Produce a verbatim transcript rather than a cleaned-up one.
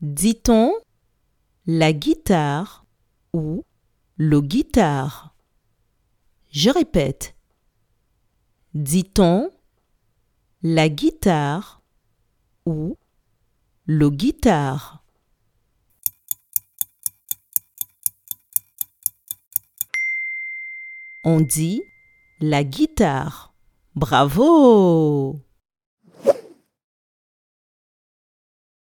Dit-on la guitare ou le guitare? Je répète. Dit-on la guitare ou le guitare? On dit la guitare. Bravo!